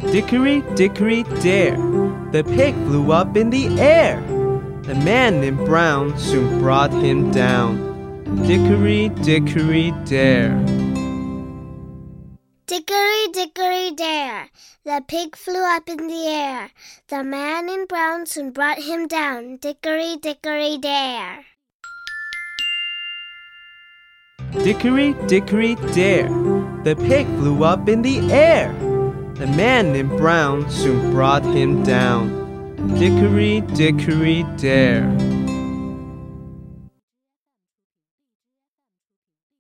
Dickory, dickory, dare, the pig flew up in the air. The man in brown soon brought him down. Dickory, dickory, dare. Dickory, dickory, dare, the pig flew up in the air. The man in brown soon brought him down. Dickory, dickory, dare. Dickory, dickory, dare, the pig flew up in the air. The man in brown soon brought him down. Dickory, dickory, dare.